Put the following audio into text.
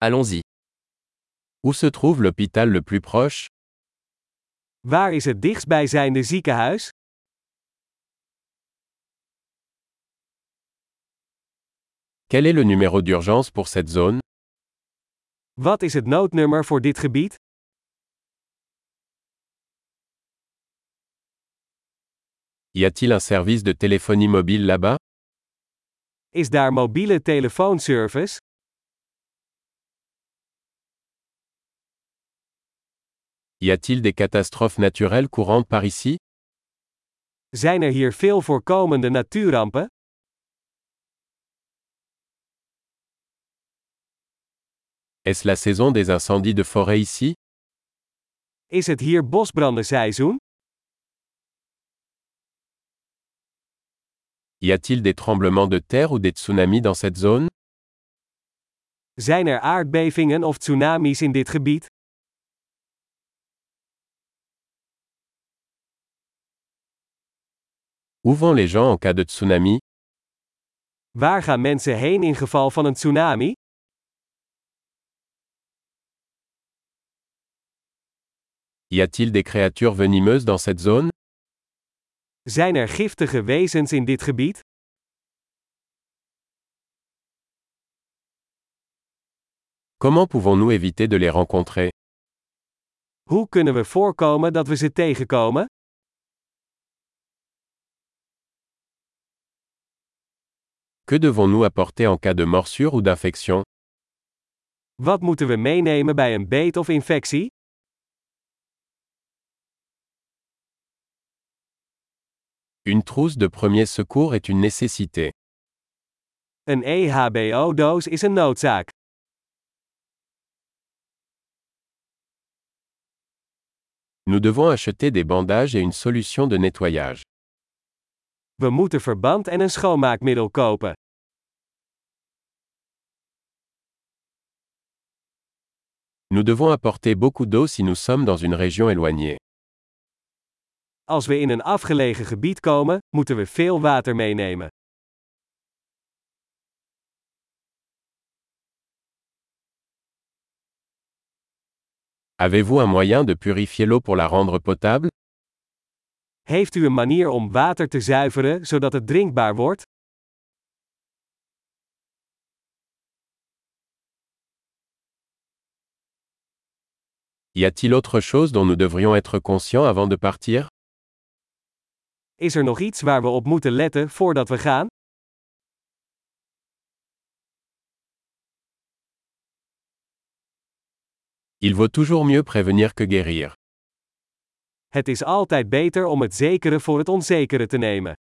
Allons-y. Où se trouve l'hôpital le plus proche? Waar is het dichtstbijzijnde ziekenhuis? Quel est le numéro d'urgence pour cette zone? Wat is het noodnummer voor dit gebied? Y a-t-il un service de téléphonie mobile là-bas? Is daar mobiele telefoonservice? Y a-t-il des catastrophes naturelles courantes par ici? Zijn er hier veel voorkomende natuurrampen? Est-ce la saison des incendies de forêt ici? Is het hier bosbrandenseizoen? Y a-t-il des tremblements de terre ou des tsunamis dans cette zone? Zijn er aardbevingen of tsunamis in dit gebied? Où vont les gens en cas de tsunami? Waar gaan mensen heen in geval van een tsunami? Y a-t-il des créatures venimeuses dans cette zone? Zijn er giftige wezens in dit gebied? Comment pouvons-nous éviter de les rencontrer? Hoe kunnen we voorkomen dat we ze tegenkomen? Que devons-nous apporter en cas de morsure ou d'infection? Wat moeten we meenemen bij een beet of infectie? Une trousse de premier secours est une nécessité. Een EHBO-doos is een noodzaak. Nous devons acheter des bandages et une solution de nettoyage. We moeten verband en een schoonmaakmiddel kopen. Nous devons apporter beaucoup d'eau si nous sommes dans une région éloignée. Als we in een afgelegen gebied komen, moeten we veel water meenemen. Avez-vous un moyen de purifier l'eau pour la rendre potable? Heeft u een manier om water te zuiveren zodat het drinkbaar wordt? Y a-t-il autre chose dont nous devrions être conscients avant de partir? Is er nog iets waar we op moeten letten voordat we gaan? Il vaut toujours mieux prévenir que guérir. Het is altijd beter om het zekere voor het onzekere te nemen.